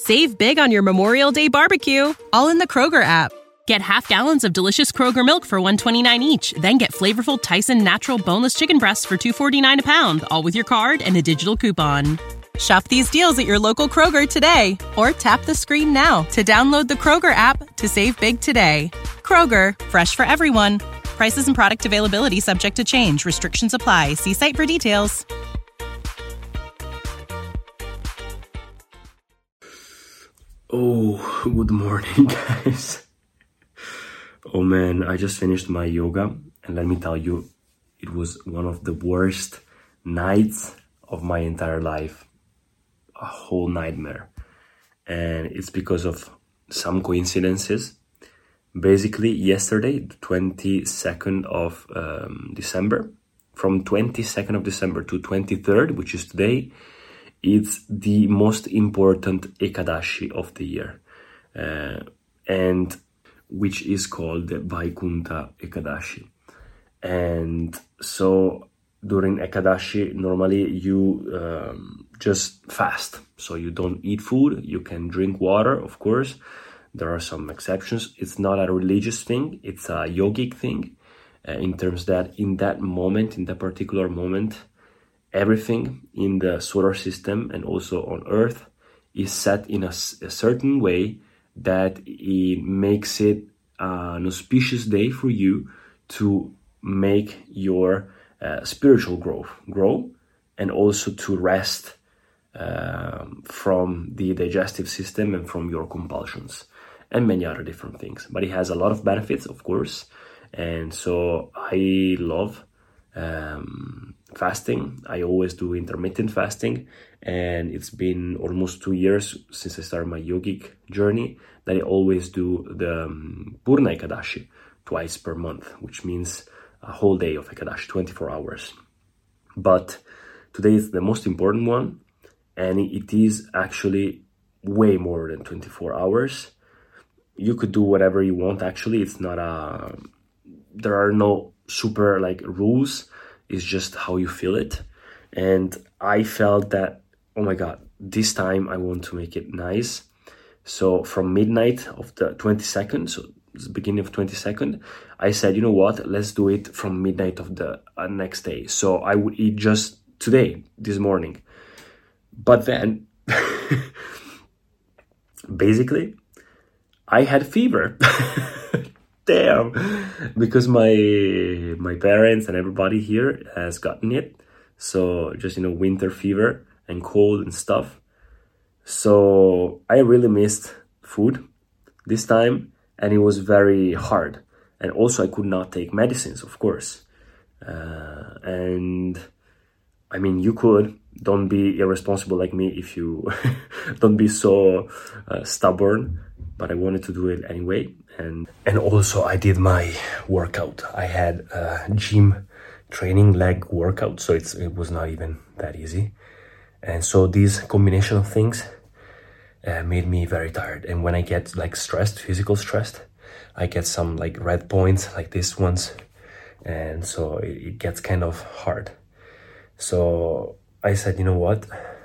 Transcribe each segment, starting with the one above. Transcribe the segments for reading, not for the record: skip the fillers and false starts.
Save big on your Memorial Day barbecue, all in the Kroger app. Get half gallons of delicious Kroger milk for $1.29 each. Then get flavorful Tyson natural boneless chicken breasts for $2.49 a pound, all with your card and a digital coupon. Shop these deals at your local Kroger today, or tap the screen now to download the Kroger app to save big today. Kroger, fresh for everyone. Prices and product availability subject to change. Restrictions apply. See site for details. Oh, good morning, guys. Oh man, I just finished my yoga, and let me tell you, it was one of the worst nights of my entire life. A whole nightmare. And it's because of some coincidences. Basically, yesterday, the 22nd of December, from 22nd of December to 23rd, which is today, it's the most important Ekadashi of the year, and which is called the Vaikunta Ekadashi. And so during Ekadashi, normally you just fast. So you don't eat food, you can drink water, of course. There are some exceptions. It's not a religious thing, it's a yogic thing, in terms that in that moment, in that particular moment, everything in the solar system and also on Earth is set in a certain way that it makes it an auspicious day for you to make your spiritual growth grow, and also to rest from the digestive system and from your compulsions and many other different things. But it has a lot of benefits, of course, and so I love fasting. I always do intermittent fasting, and it's been almost 2 years since I started my yogic journey that I always do the Purna Ekadashi twice per month, which means a whole day of Ekadashi, 24 hours. But today is the most important one, and it is actually way more than 24 hours. You could do whatever you want, actually. It's not there are no super rules. It's just how you feel it. And I felt that, oh my God, this time I want to make it nice. So from midnight of the 22nd, so it's the beginning of 22nd, I said, you know what, let's do it from midnight of the next day. So I would eat just today, this morning. But then, basically, I had fever. Damn, because my parents and everybody here has gotten it. So just, winter fever and cold and stuff. So I really missed food this time, and it was very hard. And also I could not take medicines, of course. And I mean, you could. Don't be irresponsible like me if you don't be so stubborn. But I wanted to do it anyway. And also I did my workout. I had a gym training leg workout, so it was not even that easy. And so this combination of things made me very tired. And when I get stressed, physical stressed, I get some red points like these ones. And so it gets kind of hard. So I said, you know what?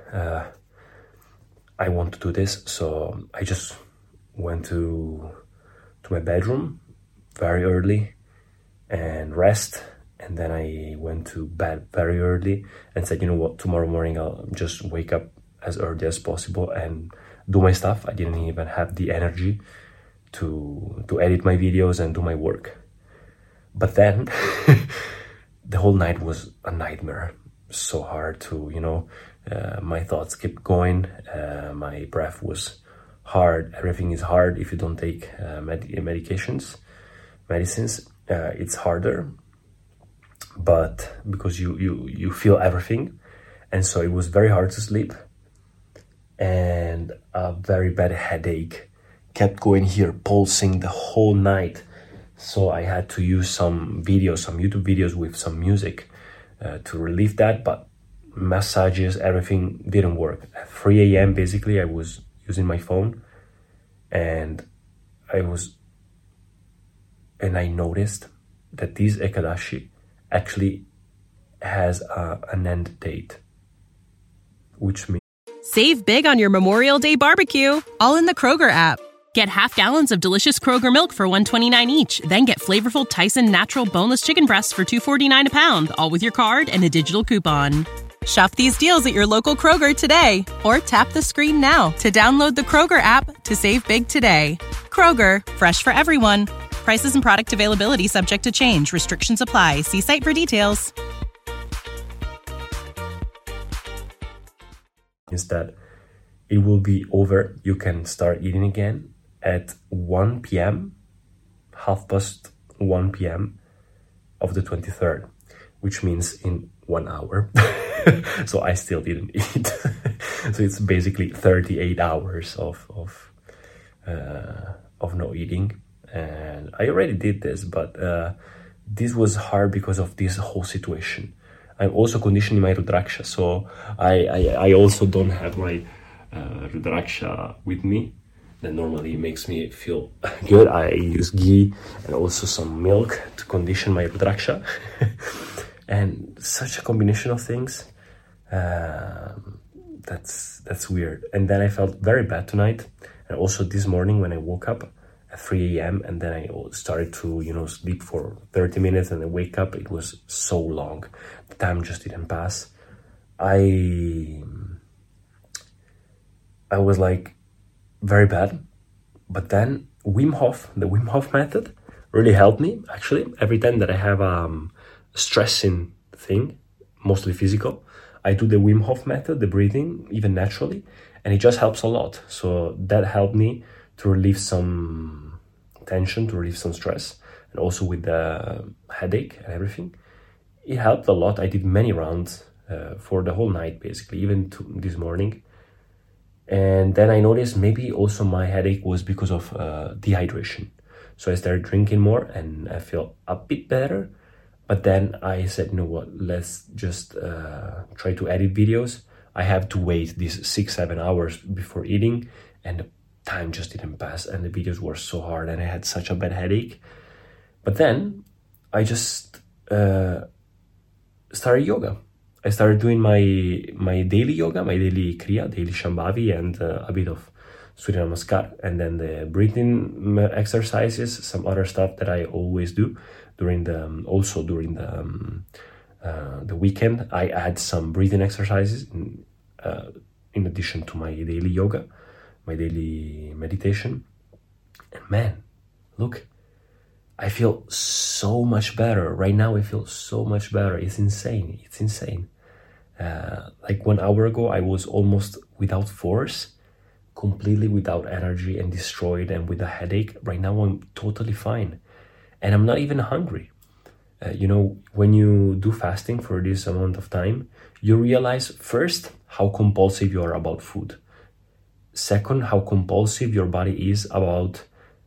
I want to do this. So I just went to my bedroom very early and rest, and then I went to bed very early and said, you know what, tomorrow morning I'll just wake up as early as possible and do my stuff. I didn't even have the energy to edit my videos and do my work. But then the whole night was a nightmare. So hard to, my thoughts kept going, my breath was hard. Everything is hard if you don't take medicines. It's harder, but because you feel everything, and so it was very hard to sleep, and a very bad headache kept going here, pulsing the whole night. So I had to use some YouTube videos with some music to relieve that, but massages, everything didn't work. At 3 a.m. basically I was using my phone, and I noticed that this Ekadashi actually has an end date, which means Save big on your Memorial Day barbecue, all in the Kroger app. Get half gallons of delicious Kroger milk for $1.29 each. Then get flavorful Tyson natural boneless chicken breasts for $2.49 a pound, all with your card and a digital coupon. Shop these deals at your local Kroger today, or tap the screen now to download the Kroger app to save big today. Kroger, fresh for everyone. Prices and product availability subject to change. Restrictions apply. See site for details. Is that it will be over. You can start eating again at 1 p.m., 1:30 p.m. of the 23rd, which means in 1 hour. So I still didn't eat. So it's basically 38 hours of no eating. And I already did this, but this was hard because of this whole situation. I'm also conditioning my Rudraksha, so I also don't have my Rudraksha with me. That normally makes me feel good. I use ghee and also some milk to condition my Rudraksha. And such a combination of things, that's weird. And then I felt very bad tonight, and also this morning when I woke up at 3 a.m. and then I started to sleep for 30 minutes and then wake up. It was so long. The time just didn't pass. I was like very bad, but then the Wim Hof method really helped me. Actually, every time that I have stressing thing, mostly physical, I do the Wim Hof method, the breathing, even naturally, and it just helps a lot. So that helped me to relieve some tension, to relieve some stress, and also with the headache and everything. It helped a lot. I did many rounds for the whole night, basically, even this morning. And then I noticed maybe also my headache was because of dehydration. So I started drinking more and I feel a bit better. But then I said, you know what, let's just try to edit videos. I have to wait these 6-7 hours before eating, and the time just didn't pass, and the videos were so hard, and I had such a bad headache. But then I just started yoga. I started doing my daily yoga, my daily Kriya, daily Shambhavi, and a bit of Surya Namaskar, and then the breathing exercises, some other stuff that I always do during the weekend. I add some breathing exercises in addition to my daily yoga, my daily meditation. And man, look, I feel so much better right now. I feel so much better. It's insane. Like 1 hour ago, I was almost without force, completely without energy and destroyed and with a headache. Right now, I'm totally fine. And I'm not even hungry. When you do fasting for this amount of time, you realize first how compulsive you are about food. Second, how compulsive your body is about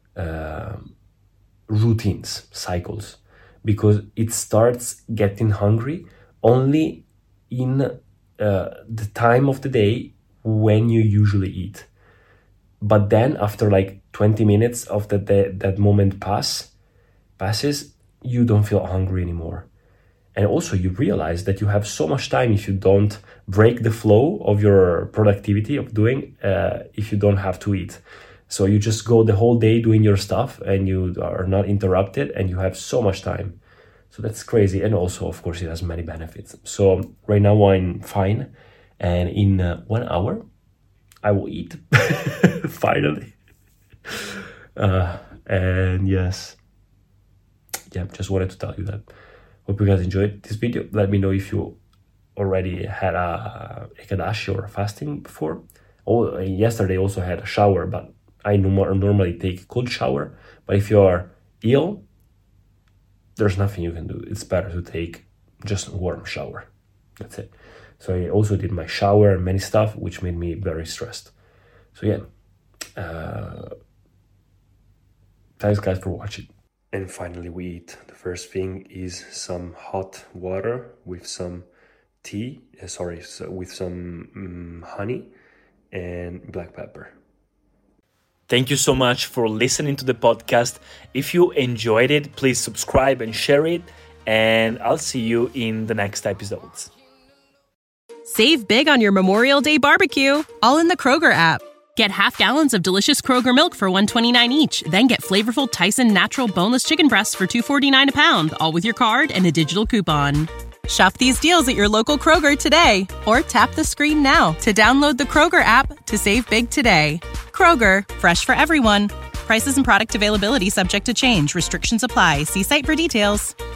routines, cycles, because it starts getting hungry only in the time of the day when you usually eat. But then after like 20 minutes of that moment passes, you don't feel hungry anymore. And also you realize that you have so much time if you don't break the flow of your productivity of doing, if you don't have to eat. So you just go the whole day doing your stuff and you are not interrupted and you have so much time. So that's crazy. And also, of course, it has many benefits. So right now I'm fine. And in 1 hour, I will eat. Finally. And yes. Yeah, just wanted to tell you that. Hope you guys enjoyed this video. Let me know if you already had a Ekadashi or a fasting before. Yesterday also had a shower, but I normally take a cold shower. But if you are ill, there's nothing you can do. It's better to take just a warm shower. That's it. So I also did my shower and many stuff, which made me very stressed. So yeah, thanks guys for watching. And finally we eat. The first thing is some hot water with some with some honey and black pepper. Thank you so much for listening to the podcast. If you enjoyed it, please subscribe and share it. And I'll see you in the next episodes. Save big on your Memorial Day barbecue, all in the Kroger app. Get half gallons of delicious Kroger milk for $1.29 each. Then get flavorful Tyson natural boneless chicken breasts for $2.49 a pound, all with your card and a digital coupon. Shop these deals at your local Kroger today, or tap the screen now to download the Kroger app to save big today. Kroger, fresh for everyone. Prices and product availability subject to change. Restrictions apply. See site for details.